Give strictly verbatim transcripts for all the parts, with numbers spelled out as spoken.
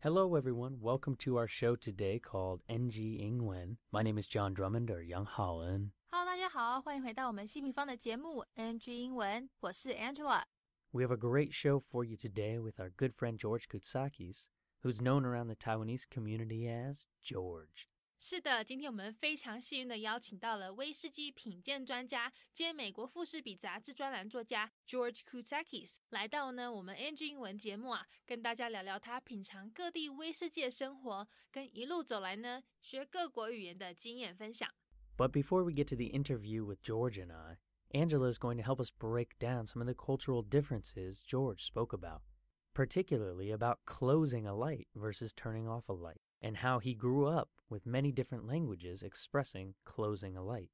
Hello, everyone. Welcome to our show today called N G 英文. My name is John Drummond or Yang Haoen. Hello， 大家好，欢迎回到我们西平方的节目 N G 英文，我是 Angela。We have a great show for you today with our good friend George Koutsakis, who's known around the Taiwanese community as George. 是的，今天我们非常幸运的邀请到了威士忌品鉴专家兼美国富士比杂志专栏作家 George Koutsakis 来到呢我们 N G 英文节目啊，跟大家聊聊他品尝各地威士忌的生活，跟一路走来呢学各国语言的经验分享。 But before we get to the interview with George and I, Angela is going to help us break down some of the cultural differences George spoke about, particularly about closing a light versus turning off a light, and how he grew up with many different languages expressing closing a light.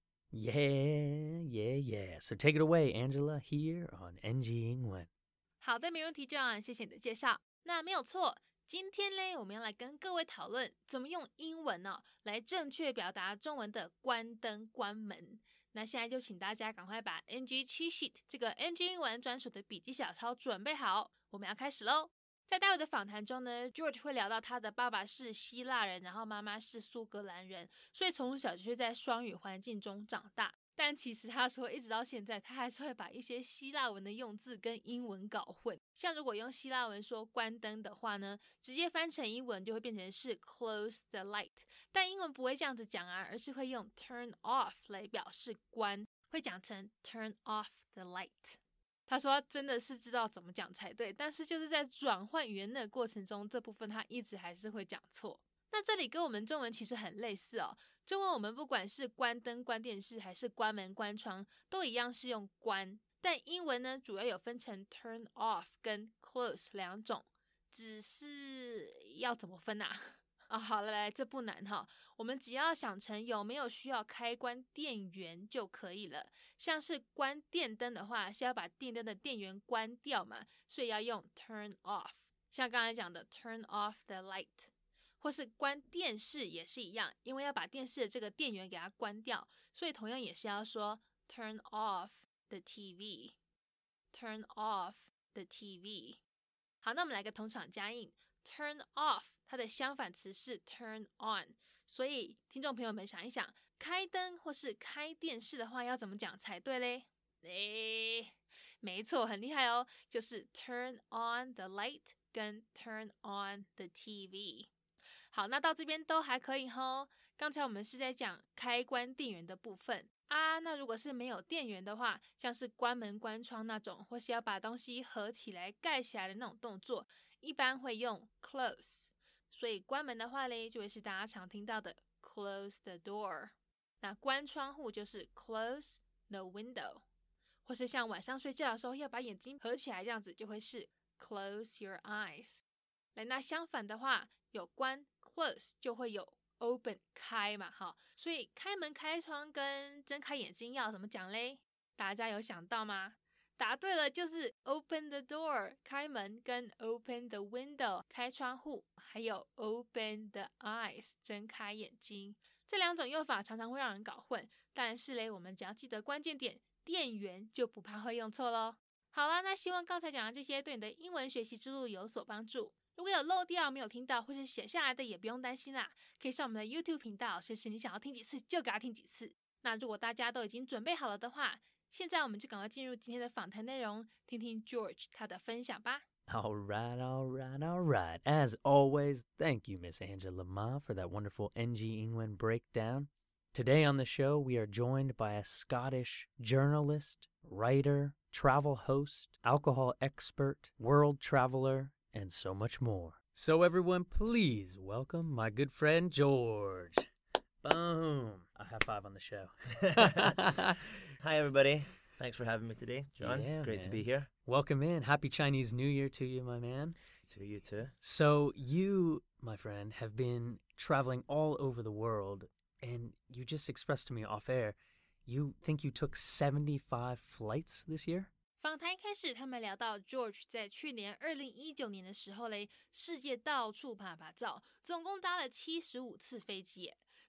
Yeah, yeah, yeah. So take it away, Angela, here on N G 英文。 好的，没问题 John， 谢谢你的介绍。那没有错，今天呢，我们要来跟各位讨论怎么用英文呢、哦、来正确表达中文的关灯关门。那现在就请大家赶快把 N G cheat sheet 这个 N G 英文专属的笔记小抄准备好，我们要开始咯。在待会的访谈中呢 George 会聊到他的爸爸是希腊人，然后妈妈是苏格兰人，所以从小就是在双语环境中长大。但其实他说一直到现在他还是会把一些希腊文的用字跟英文搞混，像如果用希腊文说关灯的话呢，直接翻成英文就会变成是 close the light， 但英文不会这样子讲啊，而是会用 turn off 来表示关，会讲成 turn off the light。他说他真的是知道怎么讲才对，但是就是在转换语言的过程中，这部分他一直还是会讲错。那这里跟我们中文其实很类似哦，中文我们不管是关灯关电视还是关门关窗都一样是用关，但英文呢主要有分成 turn off 跟 close 两种，只是要怎么分啊？哦，好了，来，这不难哈，我们只要想成有没有需要开关电源就可以了。像是关电灯的话，是要把电灯的电源关掉嘛，所以要用 turn off。像刚才讲的 turn off the light， 或是关电视也是一样，因为要把电视的这个电源给它关掉，所以同样也是要说 turn off the T V。turn off the T V。好，那我们来个同场加映。turn off 它的相反词是 turn on， 所以听众朋友们想一想，开灯或是开电视的话要怎么讲才对嘞？诶，没错，很厉害哦，就是 turn on the light 跟 turn on the T V。 好，那到这边都还可以吼。刚才我们是在讲开关电源的部分啊，那如果是没有电源的话，像是关门关窗那种，或是要把东西合起来盖起来的那种动作，一般会用 close， 所以关门的话嘞，就会是大家常听到的 close the door。 那关窗户就是 close the window， 或是像晚上睡觉的时候要把眼睛合起来，这样子就会是 close your eyes。 来，那相反的话，有关 close 就会有 open 开嘛，齁，所以开门开窗跟睁开眼睛要怎么讲嘞？大家有想到吗？答对了，就是 open the door 开门，跟 open the window 开窗户，还有 open the eyes 睁开眼睛。这两种用法常常会让人搞混，但是嘞，我们只要记得关键点，电源就不怕会用错咯。好啦，那希望刚才讲的这些对你的英文学习之路有所帮助。如果有漏掉没有听到或是写下来的也不用担心啦，可以上我们的 YouTube 频道，随时你想要听几次就给它听几次。那如果大家都已经准备好了的话，现在我们就赶快进入今天的访谈内容，听听 George 他的分享吧。 All right, all right, all right. As always, thank you, Miss Angela Ma, for that wonderful N G 英文 breakdown. Today on the show, we are joined by a Scottish journalist, writer, travel host, alcohol expert, world traveler, and so much more. So everyone, please welcome my good friend, George. Boom. A high five on the show. Hi, everybody. Thanks for having me today, John. Yeah, it's great man. to be here. Welcome in. Happy Chinese New Year to you, my man. To you too. So you, my friend, have been traveling all over the world, and you just expressed to me off air, you think you took seventy-five flights this year? 访谈一开始，他们聊到 George 在去年二零一九年的时候嘞，世界到处爬爬照，总共搭了七十五次飞机耶。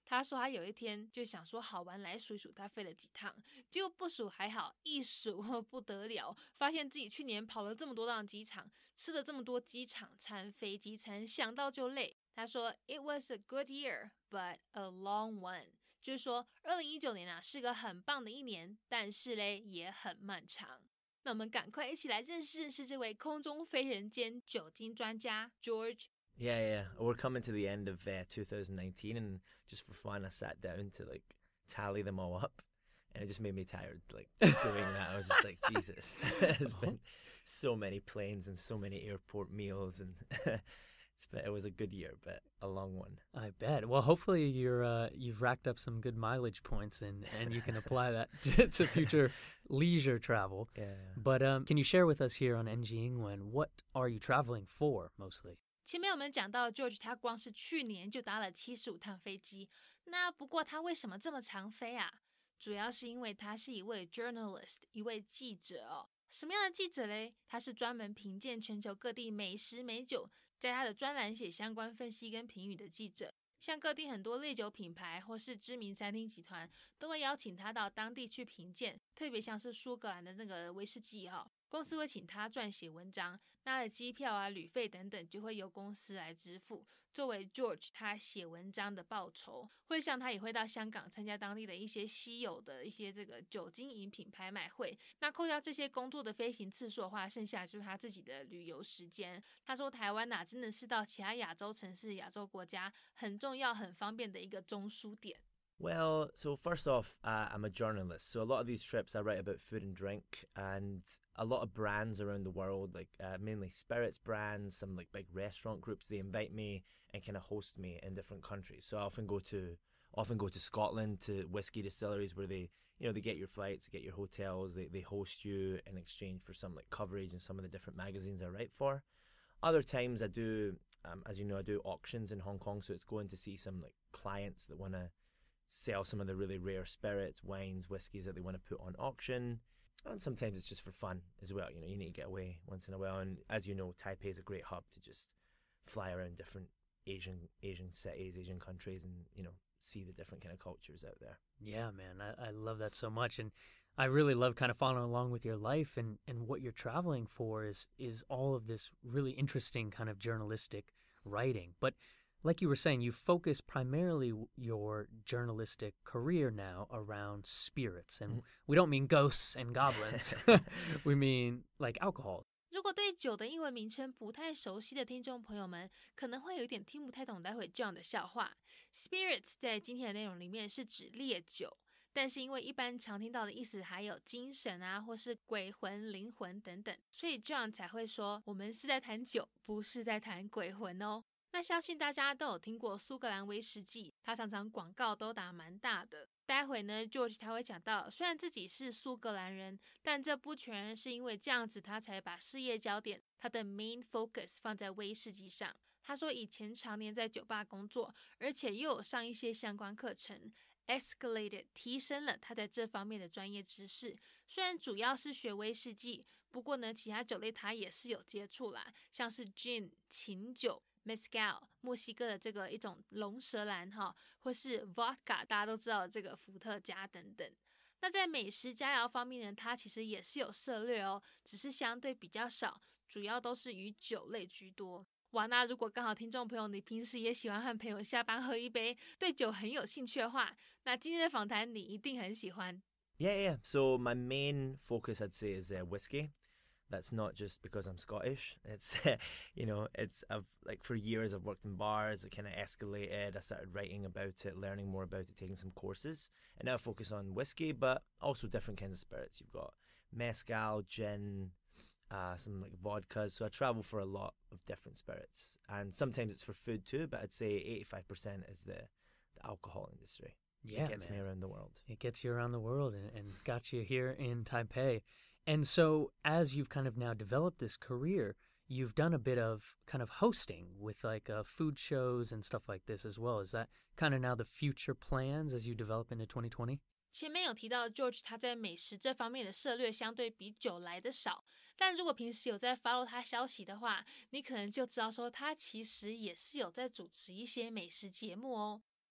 他说他有一天就想说好玩来数一数他飞了几趟，结果不数还好，一数不得了，发现自己去年跑了这么多趟机场，吃了这么多机场餐、飞机餐，想到就累。他说 It was a good year, but a long one， 就是说二零一九年啊是个很棒的一年，但是嘞也很漫长。那我们赶快一起来认识认识这位空中飞人兼酒精专家 George。 Yeah, yeah. We're coming to the end of uh, two thousand nineteen, and just for fun, I sat down to like tally them all up, and it just made me tired. Like doing that, I was just like, Jesus, there's been so many planes and so many airport meals, and it's been, it was a good year, but a long one. I bet. Well, hopefully you're uh, you've racked up some good mileage points, and, and you can apply that to, to future leisure travel. Yeah. But um, can you share with us here on N G Ingwen, what are you traveling for mostly? 前面我们讲到 George 他光是去年就搭了七十五趟飞机，那不过他为什么这么常飞啊？主要是因为他是一位 journalist， 一位记者哦。什么样的记者嘞？他是专门评鉴全球各地美食美酒，在他的专栏写相关分析跟评语的记者。像各地很多烈酒品牌或是知名餐厅集团都会邀请他到当地去评鉴，特别像是苏格兰的那个威士忌哈、哦，公司会请他撰写文章，那他的机票啊、旅费等等就会由公司来支付，作为 George 他写文章的报酬。会像他也会到香港参加当地的一些稀有的一些这个酒精饮品拍卖会，那扣掉这些工作的飞行次数的话，剩下就是他自己的旅游时间。他说台湾啊真的是到其他亚洲城市、亚洲国家很重要很方便的一个中枢点。 Well, so first off, uh, I'm a journalist. So a lot of these trips I write about food and drink, and a lot of brands around the world, like uh, mainly spirits brands, some like big restaurant groups, they invite me and kind of host me in different countries. So I often go to often go to Scotland to whiskey distilleries where they, you know, they get your flights, they get your hotels, they, they host you in exchange for some like coverage in some of the different magazines I write for. Other times I do, um, as you know, I do auctions in Hong Kong, so it's going to see some like clients that want to sell some of the really rare spirits, wines, whiskies that they want to put on auction. And sometimes it's just for fun as well. You know, you need to get away once in a while. And as you know, Taipei is a great hub to just fly around different Asian Asian cities, Asian countries, and, you know, see the different kind of cultures out there. Yeah, man, I, I love that so much. And I really love kind of following along with your life, and, and what you're traveling for is is all of this really interesting kind of journalistic writing. But like you were saying, you focus primarily your journalistic career now around spirits. And mm-hmm. we don't mean ghosts and goblins. We mean like alcohol. 如果对酒的英文名称不太熟悉的听众朋友们，可能会有一点听不太懂待会这样的笑话。Spirits 在今天的内容里面是指烈酒，但是因为一般常听到的意思还有精神啊，或是鬼魂、灵魂等等，所以 John 才会说我们是在谈酒，不是在谈鬼魂哦。那相信大家都有听过苏格兰威士忌，它常常广告都打蛮大的。待会呢 George 他会讲到，虽然自己是苏格兰人，但这不全然是因为这样子他才把事业焦点，他的 main focus 放在威士忌上。他说以前常年在酒吧工作，而且又有上一些相关课程， escalated 提升了他在这方面的专业知识。虽然主要是学威士忌，不过呢其他酒类他也是有接触啦，像是 gin 琴酒Mezcal 墨西哥的这个一种龙舌兰哈，或是 Vodka 大家都知道的这个伏特加等等。那在美食佳肴方面呢，它其实也是有涉略哦，只是相对比较少，主要都是以酒类居多。哇，那如果刚好听众朋友你平时也喜欢和朋友下班喝一杯，对酒很有兴趣的话，那今天的访谈你一定很喜欢。 Yeah, yeah. So my main focus, I'd say, is uh, whiskey. That's not just because I'm Scottish. It's, you know, it's, I've, like, for years I've worked in bars. It kind of escalated. I started writing about it, learning more about it, taking some courses. And now I focus on whiskey, but also different kinds of spirits. You've got mezcal, gin, uh, some, like, vodkas. So I travel for a lot of different spirits. And sometimes it's for food too, but I'd say eighty-five percent is the, the alcohol industry. Yeah, It gets man. me around the world. It gets you around the world and, and got you here in Taipei. And so as you've kind of now developed this career, you've done a bit of kind of hosting with like uh, food shows and stuff like this as well. Is that kind of now the future plans as you develop into twenty twenty? 前面有提到 George 他在美食这方面的涉略相对比酒来的少，但如果平时有在 follow 他消息的话，你可能就知道说他其实也是有在主持一些美食节目哦。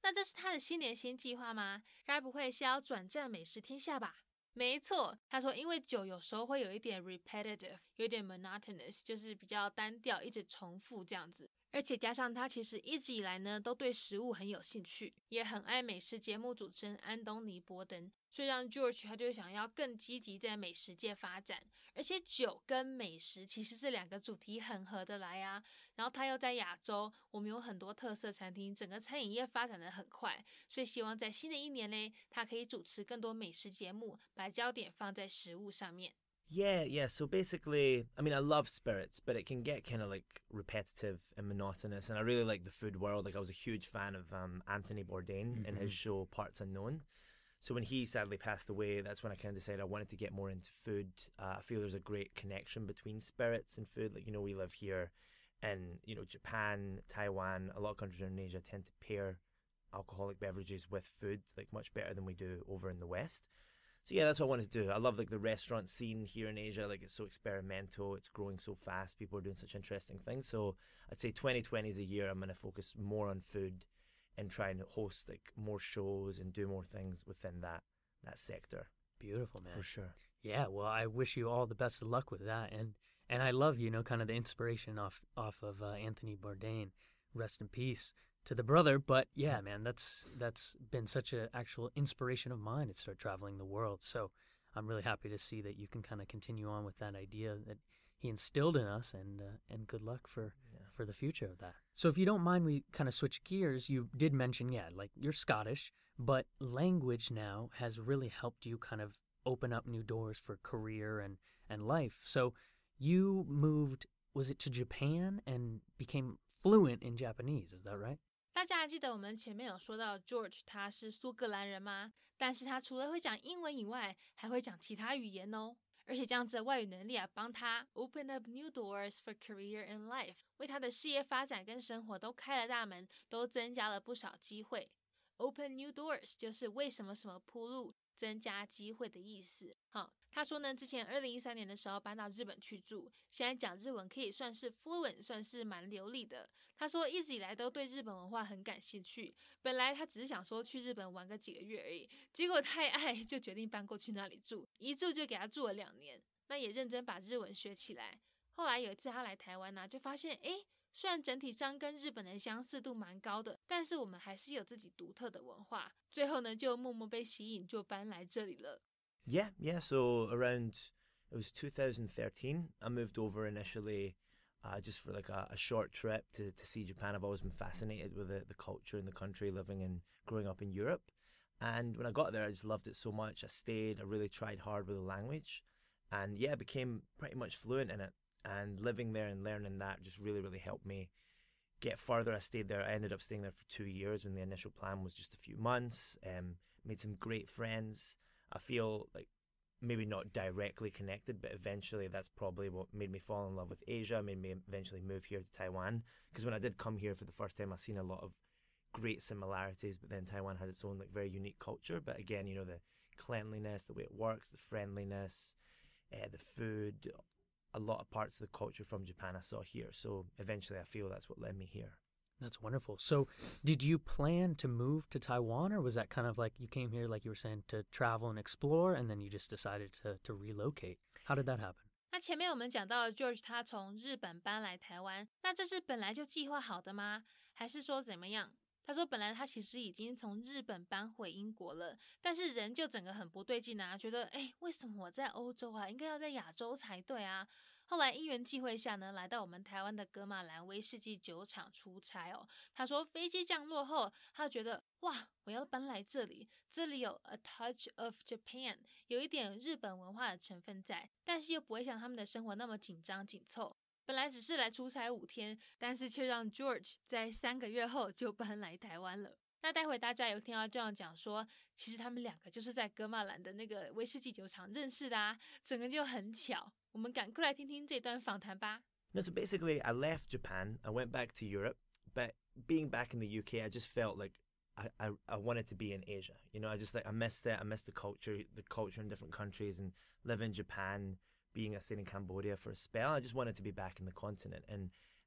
那这是他的新年新计划吗？该不会是要转战美食天下吧？没错，他说因为酒有时候会有一点 repetitive， 有点 monotonous， 就是比较单调，一直重复这样子。而且加上他其实一直以来呢都对食物很有兴趣，也很爱美食节目主持人安东尼·波登，所以让 George 他就想要更积极在美食界发展。而且酒跟美食其实这两个主题很合得来啊。然后他又在亚洲，我们有很多特色餐厅，整个餐饮业发展得很快，所以希望在新的一年呢，他可以主持更多美食节目，把焦点放在食物上面。 Yeah, yeah. So basically, I mean, I love spirits, but it can get kind of like repetitive and monotonous. And I really like the food world. Like I was a huge fan of um, Anthony Bourdain mm-hmm. and his show Parts Unknown. So when he sadly passed away, that's when I kind of decided I wanted to get more into food. Uh, I feel there's a great connection between spirits and food. Like, you know, we live here in, you know, Japan, Taiwan, a lot of countries in Asia tend to pair alcoholic beverages with food, like much better than we do over in the West. So yeah, that's what I wanted to do. I love like the restaurant scene here in Asia. Like it's so experimental. It's growing so fast. People are doing such interesting things. So I'd say twenty twenty is a year I'm going to focus more on food and try and host like more shows and do more things within that that sector. Beautiful, man. For sure. Yeah, well, I wish you all the best of luck with that. And and I love, you know, kind of the inspiration off off of uh, Anthony Bourdain. Rest in peace to the brother. But yeah, man, that's that's been such an actual inspiration of mine to start traveling the world. So I'm really happy to see that you can kind of continue on with that idea that he instilled in us, and uh, and good luck for yeah. for the future of that. So if you don't mind, we kind of switch gears. You did mention, yeah, like you're Scottish, but language now has really helped you kind of open up new doors for career and and life. So you moved, was it to Japan, and became fluent in Japanese? Is that right? 大家还记得我们前面有说到 George 他是苏格兰人吗？但是他除了会讲英文以外，还会讲其他语言哦。而且这样子的外语能力啊，帮他 open up new doors for career and life， 为他的事业发展跟生活都开了大门，都增加了不少机会。Open new doors 就是为什么什么铺路，增加机会的意思。好，他说呢，之前二零一三年的时候搬到日本去住，现在讲日文可以算是 fluent， 算是蛮流利的。他说一直以来都对日本文化很感兴趣，本来他只是想说去日本玩个几个月而已，结果太爱就决定搬过去那里住，一住就给他住了两年，那也认真把日文学起来。后来有一次他来台湾啊，就发现诶，虽然整体上跟日本的相似度蛮高的，但是我们还是有自己独特的文化。最后呢，就默默被吸引，就搬来这里了。 Yeah, yeah. So around it was two thousand thirteen. I moved over initially, uh, just for like a, a short trip to to see Japan. I've always been fascinated with the the culture in the country, living and growing up in Europe. And when I got there, I just loved it so much. I stayed. I really tried hard with the language, and yeah, became pretty much fluent in it. And living there and learning that just really, really helped me get further. I stayed there. I ended up staying there for two years when the initial plan was just a few months. Um, made some great friends. I feel like maybe not directly connected, but eventually that's probably what made me fall in love with Asia, made me eventually move here to Taiwan. Because when I did come here for the first time, I seen a lot of great similarities, but then Taiwan has its own like very unique culture. But again, you know, the cleanliness, the way it works, the friendliness, uh, the food, a lot of parts of the culture from Japan I saw here. So eventually I feel that's what led me here. That's wonderful. So did you plan to move to Taiwan, or was that kind of like you came here, like you were saying, to travel and explore, and then you just decided to, to relocate? How did that happen? 那前面我们讲到 George 他从日本搬来台湾，那这是本来就计划好的吗？还是说怎么样？他说本来他其实已经从日本搬回英国了，但是人就整个很不对劲啊，觉得诶，为什么我在欧洲啊，应该要在亚洲才对啊。后来因缘际会下呢，来到我们台湾的噶玛兰威士忌酒厂出差哦。他说飞机降落后，他就觉得哇，我要搬来这里，这里有 a touch of Japan， 有一点日本文化的成分在，但是又不会像他们的生活那么紧张紧凑。本来只是来出差五天，但是却让 George 在三个月后就搬来台湾了。那待会大家有听到这样讲说，其实他们两个就是在噶玛兰的那个威士忌酒厂认识的啊，整个就很巧。我们赶快来听听这段访谈吧。 No, so basically I left Japan, I went back to Europe, but being back in the U K, I just felt like I, I, I wanted to be in Asia. You know, I just like, I missed it, I missed the culture, the culture in different countries, and live in Japan, being I stayed in Cambodia for a spell. I just wanted to be back in the continent, and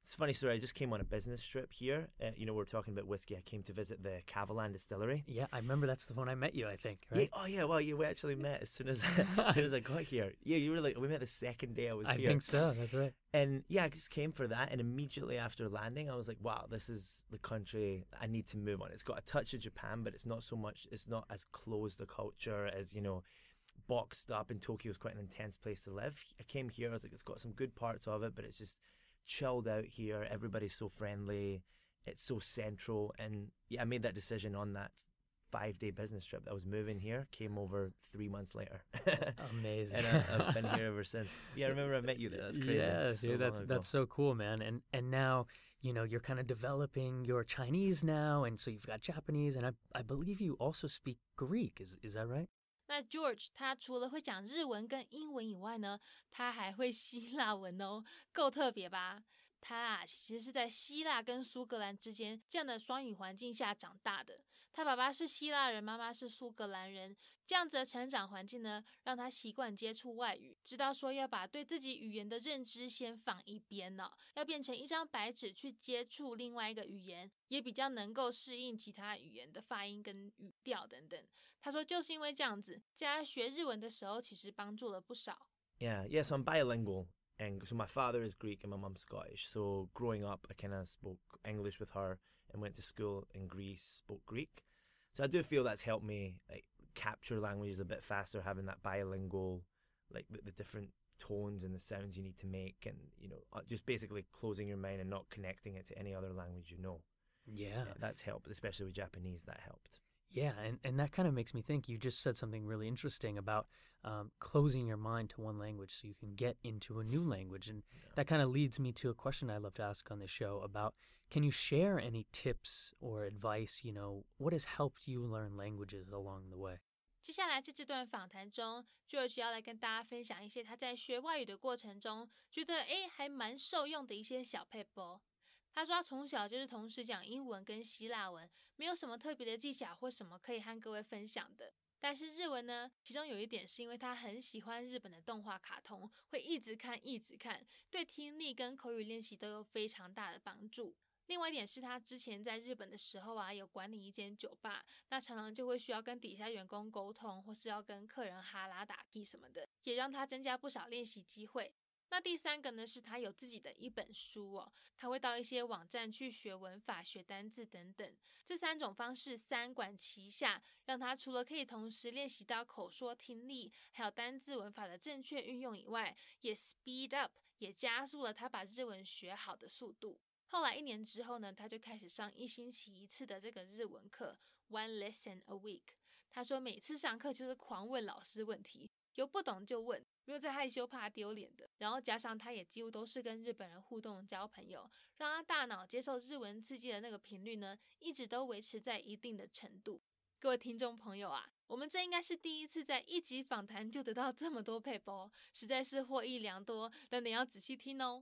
It's a funny story. I just came on a business trip here. Uh, you know, we're talking about whiskey. I came to visit the Cavalan distillery. Yeah, I remember that's the one I met you, I think, right? Yeah, oh, yeah. Well, you we actually met as soon as as soon as I got here. Yeah, you were like, we met the second day I was I here. I think so. That's right. And yeah, I just came for that. And immediately after landing, I was like, wow, this is the country I need to move on. It's got a touch of Japan, but it's not so much, it's not as closed a culture as, you know, boxed up. And Tokyo is quite an intense place to live. I came here, I was like, it's got some good parts of it, but it's just chilled out here. Everybody's so friendly. It's so central. And yeah, I made that decision on that five day business trip that I was moving here. Came over three months later. Amazing. And I, I've been here ever since. Yeah, I remember I met you there. That's crazy. Yeah, so dude, that's that's so cool, man. And and now, you know, you're kind of developing your Chinese now, and so you've got Japanese, and I I believe you also speak Greek. Is is that right? 那 George 他除了会讲日文跟英文以外呢，他还会希腊文哦，够特别吧？他啊，其实是在希腊跟苏格兰之间这样的双语环境下长大的。他爸爸是希腊人，妈妈是苏格兰人，这样子的成长环境呢，让他习惯接触外语，知道说要把对自己语言的认知先放一边呢，要变成一张白纸去接触另外一个语言，也比较能够适应其他语言的发音跟语调等等。他说就是因为这样子，在他学日文的时候，其实帮助了不少。 Yeah, yeah, so I'm bilingual. And so my father is Greek and my mum's Scottish. So growing up, I kind of spoke English with her and went to school in Greece, spoke Greek. So I do feel that's helped me like capture languages a bit faster, having that bilingual, like the, the different tones and the sounds you need to make, and you know, just basically closing your mind and not connecting it to any other language you know. Yeah, yeah that's helped, especially with Japanese. That helped. Yeah, and, and that kind of makes me think, you just said something really interesting about um, closing your mind to one language so you can get into a new language. And yeah. that kind of leads me to a question I love to ask on the show about, can you share any tips or advice, you know, what has helped you learn languages along the way? 接下来在这段访谈中 George 要来跟大家分享一些他在学外语的过程中觉得诶还蛮受用的一些小撇步。他说他从小就是同时讲英文跟希腊文，没有什么特别的技巧或什么可以和各位分享的。但是日文呢，其中有一点是因为他很喜欢日本的动画卡通，会一直看一直看，对听力跟口语练习都有非常大的帮助。另外一点是他之前在日本的时候啊，有管理一间酒吧，那常常就会需要跟底下员工沟通，或是要跟客人哈拉打屁什么的，也让他增加不少练习机会。那第三个呢，是他有自己的一本书哦，他会到一些网站去学文法、学单字等等。这三种方式三管齐下，让他除了可以同时练习到口说听力，还有单字文法的正确运用以外，也 speed up， 也加速了他把日文学好的速度。后来一年之后呢，他就开始上一星期一次的这个日文课 ，one lesson a week。他说每次上课就是狂问老师问题，有不懂就问，没有在害羞怕丢脸的。然后加上他也几乎都是跟日本人互动交朋友，让他大脑接受日文刺激的那个频率呢，一直都维持在一定的程度。各位听众朋友啊，我们这应该是第一次在一集访谈就得到这么多撇步，实在是获益良多，但你要仔细听哦。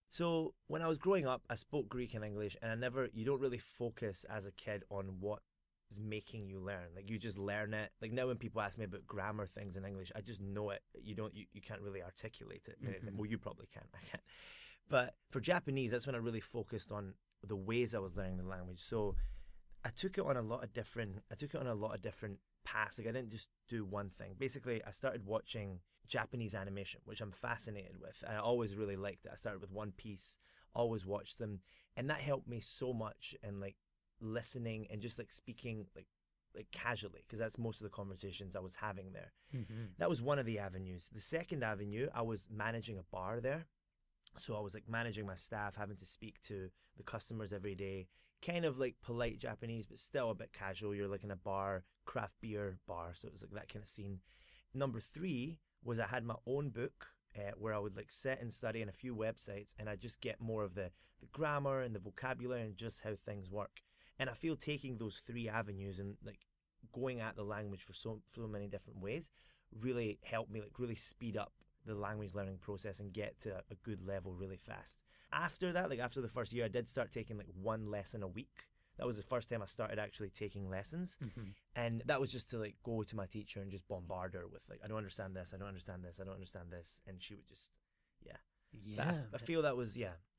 So when I was growing up, I spoke Greek and English, and I never, you don't really focus as a kid on what is making you learn. Like you just learn it. Like now when people ask me about grammar things in English, I just know it. You don't, you, you can't really articulate it. Mm-hmm. Well, you probably can. I can't. But for Japanese, that's when I really focused on the ways I was learning the language. So I took it on a lot of different, I took it on a lot of different paths. Like I didn't just do one thing. Basically, I started watching Japanese animation, which I'm fascinated with. I always really liked it. I started with One Piece, always watched them, and that helped me so much in like listening and just like speaking like like casually, because that's most of the conversations I was having there. Mm-hmm. That was one of the avenues. The second avenue, I was managing a bar there. So I was like managing my staff, having to speak to the customers every day, kind of like polite Japanese, but still a bit casual. You're like in a bar, craft beer bar. So it was like that kind of scene. Number three was I had my own book uh, where I would like sit and study on a few websites, and I just get more of the, the grammar and the vocabulary and just how things work. And I feel taking those three avenues and like going at the language for so so many different ways really helped me like really speed up the language learning process and get to a good level really fast. After that, like after the first year, I did start taking like one lesson a week. That was the first time I started actually taking lessons. Mm-hmm. And that was just to like go to my teacher and just bombard her with like, I don't understand this, I don't understand this, I don't understand this. And she would just, yeah. Yeah. I, I feel that was, yeah,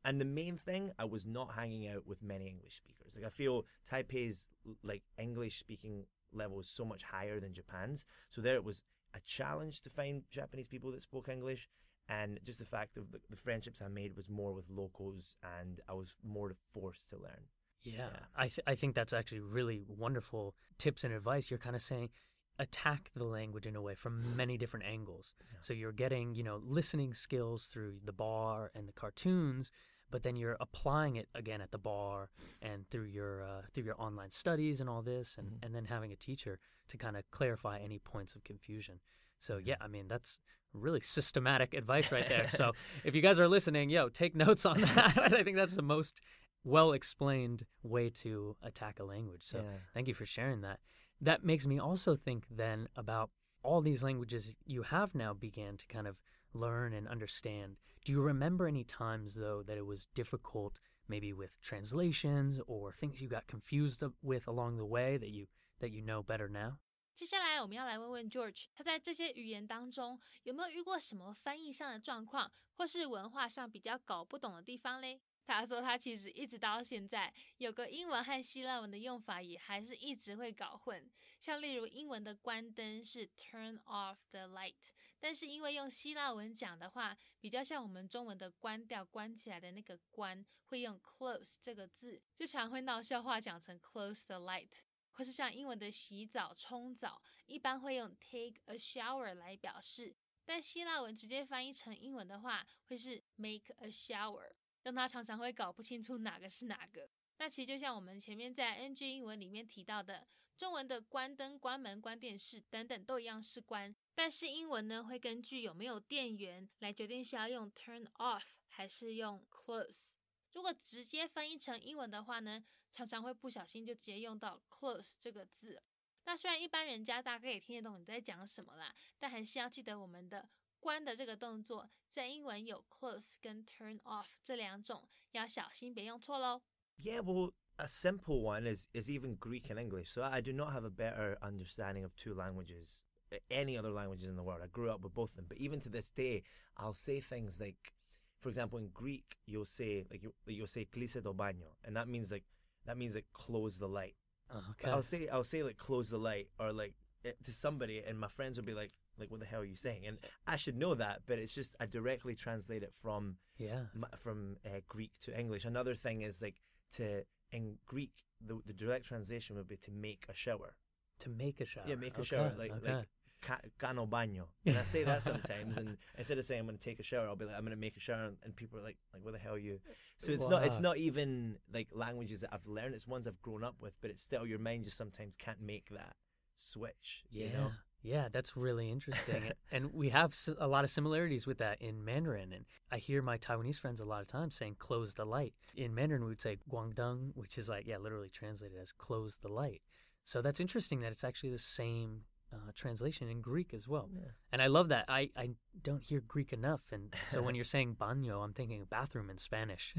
And the main thing, I was not hanging out with many English speakers. Like I feel Taipei's like English speaking level is so much higher than Japan's. So there it was a challenge to find Japanese people that spoke English. And just the fact of the, the friendships I made was more with locals, and I was more forced to learn. Yeah, Yeah. I th- I think that's actually really wonderful tips and advice. You're kind of saying attack the language in a way from many different angles. Yeah. So you're getting, you know, listening skills through the bar and the cartoons, but then you're applying it again at the bar and through your uh, through your online studies and all this, and, Mhm. and then having a teacher to kind of clarify any points of confusion. So yeah, I mean, that's really systematic advice right there. So if you guys are listening, yo, take notes on that. I think that's the most well-explained way to attack a language. So Yeah. thank you for sharing that. That makes me also think then about all these languages you have now began to kind of learn and understand. Do you remember any times, though, that it was difficult, maybe with translations or things you got confused with along the way that you that you know better now? 接下来我们要来问问 George， 他在这些语言当中有没有遇过什么翻译上的状况，或是文化上比较搞不懂的地方嘞？他说他其实一直到现在，有个英文和希腊文的用法也还是一直会搞混。像例如英文的关灯是 turn off the light， 但是因为用希腊文讲的话，比较像我们中文的关掉、关起来的那个关，会用 close 这个字，就常会闹笑话讲成 close the light。或是像英文的洗澡、冲澡，一般会用 take a shower 来表示，但希腊文直接翻译成英文的话，会是 make a shower， 让他常常会搞不清楚哪个是哪个。那其实就像我们前面在 N G 英文里面提到的，中文的关灯、关门、关电视等等都一样是关，但是英文呢会根据有没有电源来决定是要用 turn off 还是用 close。如果直接翻译成英文的话呢，常常会不小心就直接用到 close 这个字。那虽然一般人家大概也听得懂你在讲什么啦，但还是要记得我们的关的这个动作，在英文有 close 跟 turn off 这两种，要小心别用错咯。 Yeah, well, a simple one is, is even Greek and English. So I do not have a better understanding of two languages, any other languages in the world. I grew up with both of them. But even to this day, I'll say things like, for example, in Greek, you'll say, like, you, you'll say klise do baño. And that means, like, that means, like, close the light. Okay. I'll say, I'll say, like, close the light, or, like, it, to somebody, and my friends will be like, like, what the hell are you saying? And I should know that, but it's just, I directly translate it from, Yeah. from uh, Greek to English. Another thing is, like, to, in Greek, the, the direct translation would be to make a shower. To make a shower. Yeah, make a Okay, shower. Like, okay. like, ca- cano baño. And I say that sometimes, and instead of saying I'm going to take a shower, I'll be like, I'm going to make a shower, and people are like, like, what the hell are you? So it's not, it's Wow. not even like languages that I've learned. It's ones I've grown up with, but it's still, your mind just sometimes can't make that switch. Yeah. You know? Yeah, that's really interesting. And we have s- a lot of similarities with that in Mandarin. And I hear my Taiwanese friends a lot of times saying close the light. In Mandarin, we would say guangdeng, which is like, yeah, literally translated as close the light. So that's interesting that it's actually the same uh, translation in Greek as well. Yeah. And I love that. I, I don't hear Greek enough. And so when you're saying baño, I'm thinking bathroom in Spanish.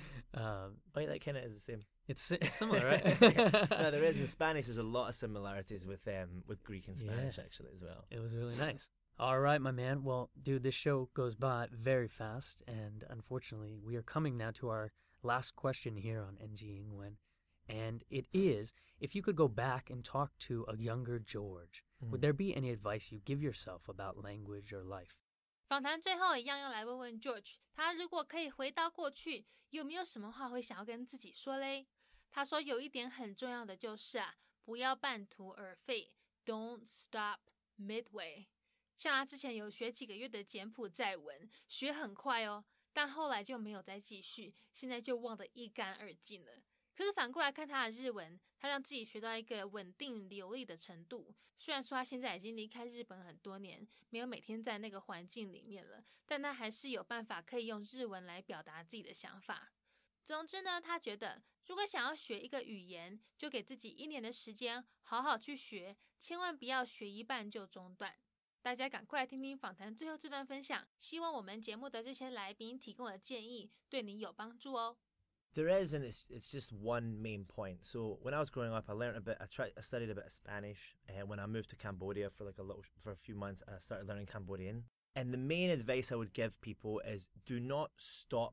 um, Oh, yeah, that kind of is the same. it's, it's similar, right? No, there is in Spanish. There's a lot of similarities with um with Greek and Spanish Yeah. actually as well. It was really nice. All right, my man. Well, dude, this show goes by very fast, and unfortunately, we are coming now to our last question here on N G Ingwen, and it is: if you could go back and talk to a younger George, would there be any advice you give yourself about language or life? 访谈最后一样要来问问 George， 他如果可以回到过去，有没有什么话会想要跟自己说嘞？他说有一点很重要的就是啊，不要半途而废 ，Don't stop midway。像他之前有学几个月的柬埔寨文，学很快哦，但后来就没有再继续，现在就忘得一干二净了。可是反过来看他的日文，他让自己学到一个稳定流利的程度。虽然说他现在已经离开日本很多年，没有每天在那个环境里面了，但他还是有办法可以用日文来表达自己的想法。总之呢，他觉得如果想要学一个语言，就给自己一年的时间好好去学，千万不要学一半就中断。大家赶快来听听访谈最后这段分享，希望我们节目的这些来宾提供的建议对你有帮助哦。 There is, and it's it's just one main point. So when I was growing up, I learned a bit. I tried, I studied a bit of Spanish, and when I moved to Cambodia for like a little, for a few months, I started learning Cambodian. And the main advice I would give people is: do not stop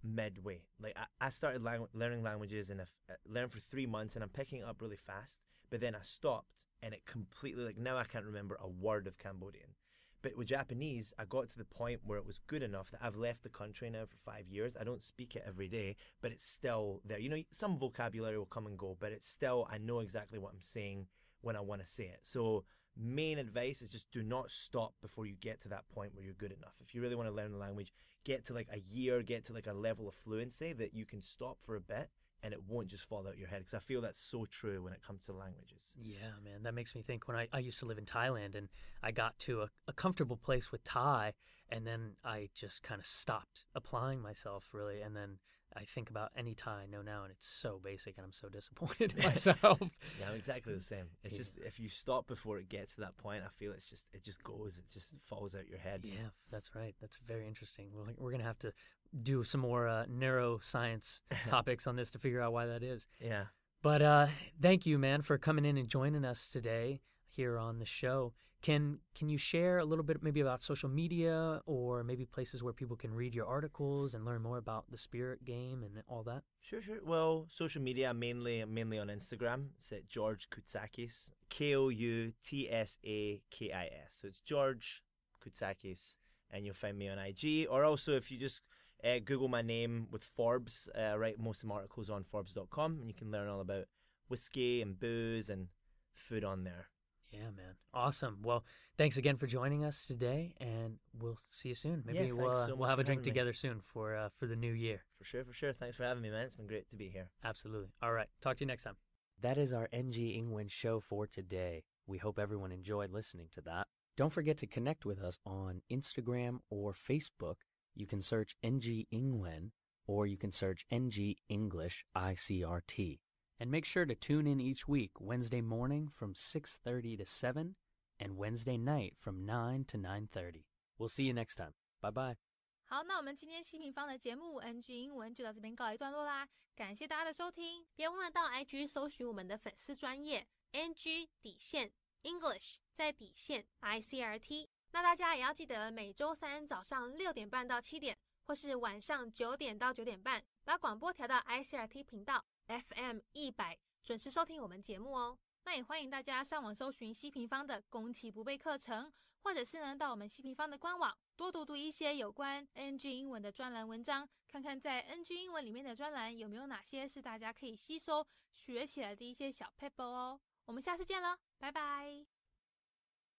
midway. Like I, I started lang- learning languages and I f- learned for three months and I'm picking it up really fast. But then I stopped and it completely, like now I can't remember a word of Cambodian. But with Japanese, I got to the point where it was good enough that I've left the country now for five years. I don't speak it every day, but it's still there. You know, some vocabulary will come and go, but it's still, I know exactly what I'm saying when I want to say it. So main advice is just do not stop before you get to that point where you're good enough. If you really want to learn the language, get to like a year, get to like a level of fluency that you can stop for a bit and it won't just fall out your head, because I feel that's so true when it comes to languages. Yeah, man, that makes me think when I, I used to live in Thailand and I got to a, a comfortable place with Thai and then I just kind of stopped applying myself really, and then I think about any Thai I know now and it's so basic and I'm so disappointed in myself. Yeah, I'm exactly the same. It's Yeah. just if you stop before it gets to that point, I feel it's just it just goes, it just falls out your head. Yeah, that's right. That's very interesting. We're, we're going to have to do some more uh, neuroscience topics on this to figure out why that is. Yeah. But uh, thank you, man, for coming in and joining us today here on the show. Can can you share a little bit maybe about social media or maybe places where people can read your articles and learn more about the Spirit game and all that? Sure, sure. Well, social media, mainly mainly on Instagram. It's at George Koutsakis, K O U T S A K I S. So it's George Koutsakis, and you'll find me on I G. Or also, if you just uh, Google my name with Forbes, uh, I write most of my articles on Forbes dot com, and you can learn all about whiskey and booze and food on there. Yeah, man. Awesome. Well, thanks again for joining us today, and we'll see you soon. Maybe Yeah, we'll, thanks uh, so we'll much have a for drink having me. together soon for uh, for the new year. For sure, for sure. Thanks for having me, man. It's been great to be here. Absolutely. All right. Talk to you next time. That is our N G Ingwen show for today. We hope everyone enjoyed listening to that. Don't forget to connect with us on Instagram or Facebook. You can search N G Ingwen or you can search N G English I C R T. And make sure to tune in each week, Wednesday morning from six thirty to seven and Wednesday night from nine to nine thirty. We'll see you next time. Bye-bye. 好，那我们今天西平方的节目 N G 英文就到这边告一段落啦，感谢大家的收听，别忘了到 I G 搜寻我们的粉丝专页 N G 底线 English 在底线 I C R T。那大家也要记得每周三早上六点半到七点，或是晚上九点到九点半，把广播调到 I C R T 频道 F M 一百，准时收听我们节目哦。那也欢迎大家上网搜寻西平方的攻其不备课程，或者是呢到我们西平方的官网多读读一些有关 N G 英文的专栏文章，看看在 N G 英文里面的专栏有没有哪些是大家可以吸收学起来的一些小 paper 哦。我们下次见了，拜拜。